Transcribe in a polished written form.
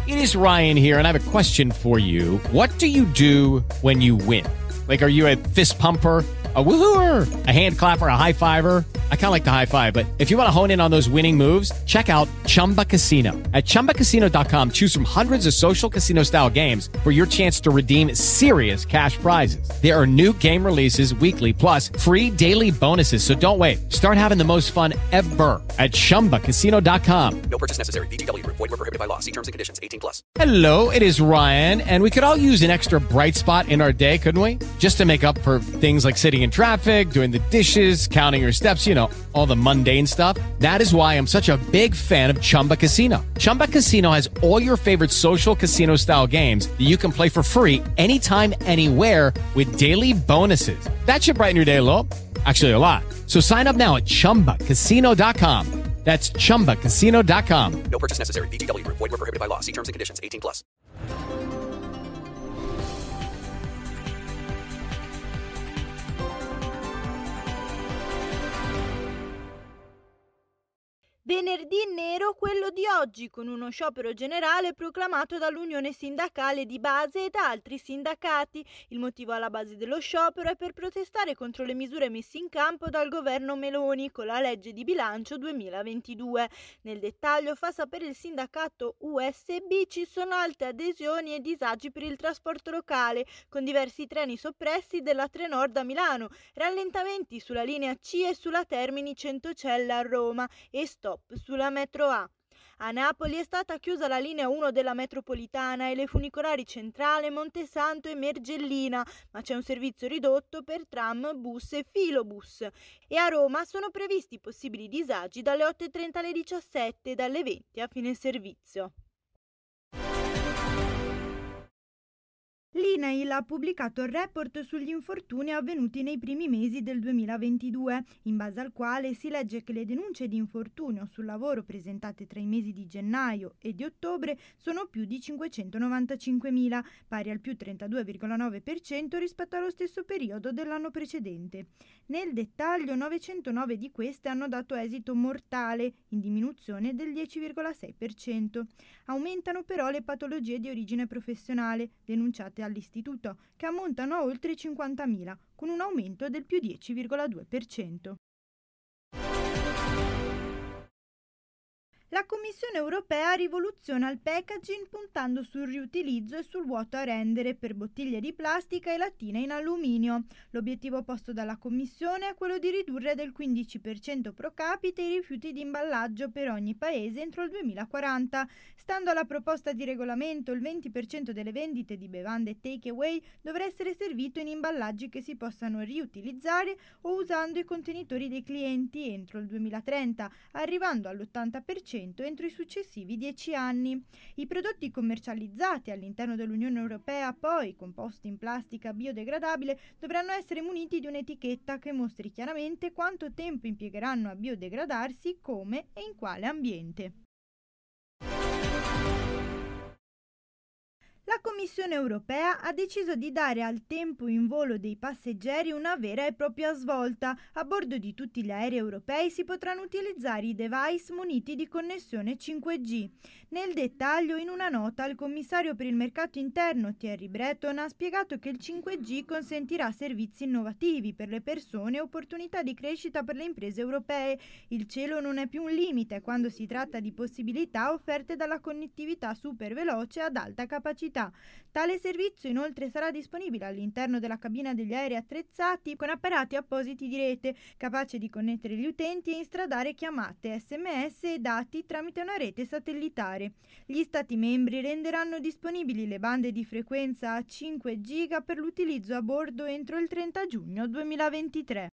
It is Ryan here, and I have a question for you. What do you do when you win? Like, are you a fist pumper, a woohooer, a hand clapper, a high fiver? I kind of like the high five, but if you want to hone in on those winning moves, check out Chumba Casino. At ChumbaCasino.com, choose from hundreds of social casino style games for your chance to redeem serious cash prizes. There are new game releases weekly, plus free daily bonuses. So don't wait. Start having the most fun ever at ChumbaCasino.com. No purchase necessary. VGW Group. Void where prohibited by law. See terms and conditions. 18+. Hello, it is Ryan, and we could all use an extra bright spot in our day, couldn't we? Just to make up for things like sitting in traffic, doing the dishes, counting your steps, you know, all the mundane stuff. That is why I'm such a big fan of Chumba Casino. Chumba Casino has all your favorite social casino style games that you can play for free anytime, anywhere with daily bonuses. That should brighten your day a little. Actually, a lot. So sign up now at ChumbaCasino.com. That's ChumbaCasino.com. No purchase necessary. VGW Group. Void where prohibited by law. See terms and conditions. 18+. Venerdì nero quello di oggi, con uno sciopero generale proclamato dall'Unione Sindacale di Base e da altri sindacati. Il motivo alla base dello sciopero è per protestare contro le misure messe in campo dal governo Meloni con la legge di bilancio 2022. Nel dettaglio fa sapere il sindacato USB ci sono alte adesioni e disagi per il trasporto locale, con diversi treni soppressi della Trenord a Milano, rallentamenti sulla linea C e sulla Termini Centocelle a Roma e stop sulla metro A. A Napoli è stata chiusa la linea 1 della metropolitana e le funicolari Centrale, Montesanto e Mergellina, ma c'è un servizio ridotto per tram, bus e filobus. E a Roma sono previsti possibili disagi dalle 8:30 alle 17 e dalle 20 a fine servizio. L'INAIL ha pubblicato il report sugli infortuni avvenuti nei primi mesi del 2022, in base al quale si legge che le denunce di infortunio sul lavoro presentate tra i mesi di gennaio e di ottobre sono più di 595.000, pari al più 32,9% rispetto allo stesso periodo dell'anno precedente. Nel dettaglio, 909 di queste hanno dato esito mortale, in diminuzione del 10,6%. Aumentano però le patologie di origine professionale, denunciate all'istituto, che ammontano a oltre 50.000, con un aumento del più 10,2%. La Commissione europea rivoluziona il packaging puntando sul riutilizzo e sul vuoto a rendere per bottiglie di plastica e lattine in alluminio. L'obiettivo posto dalla Commissione è quello di ridurre del 15% pro capite i rifiuti di imballaggio per ogni paese entro il 2040. Stando alla proposta di regolamento, il 20% delle vendite di bevande take away dovrà essere servito in imballaggi che si possano riutilizzare o usando i contenitori dei clienti entro il 2030, arrivando all'80% entro i successivi 10 anni. I prodotti commercializzati all'interno dell'Unione Europea, poi composti in plastica biodegradabile, dovranno essere muniti di un'etichetta che mostri chiaramente quanto tempo impiegheranno a biodegradarsi, come e in quale ambiente. La Commissione europea ha deciso di dare al tempo in volo dei passeggeri una vera e propria svolta. A bordo di tutti gli aerei europei si potranno utilizzare i device muniti di connessione 5G. Nel dettaglio, in una nota, il commissario per il mercato interno Thierry Breton ha spiegato che il 5G consentirà servizi innovativi per le persone e opportunità di crescita per le imprese europee. Il cielo non è più un limite quando si tratta di possibilità offerte dalla connettività super veloce ad alta capacità. Tale servizio inoltre sarà disponibile all'interno della cabina degli aerei attrezzati con apparati appositi di rete, capace di connettere gli utenti e instradare chiamate, SMS e dati tramite una rete satellitare. Gli Stati membri renderanno disponibili le bande di frequenza a 5 giga per l'utilizzo a bordo entro il 30 giugno 2023.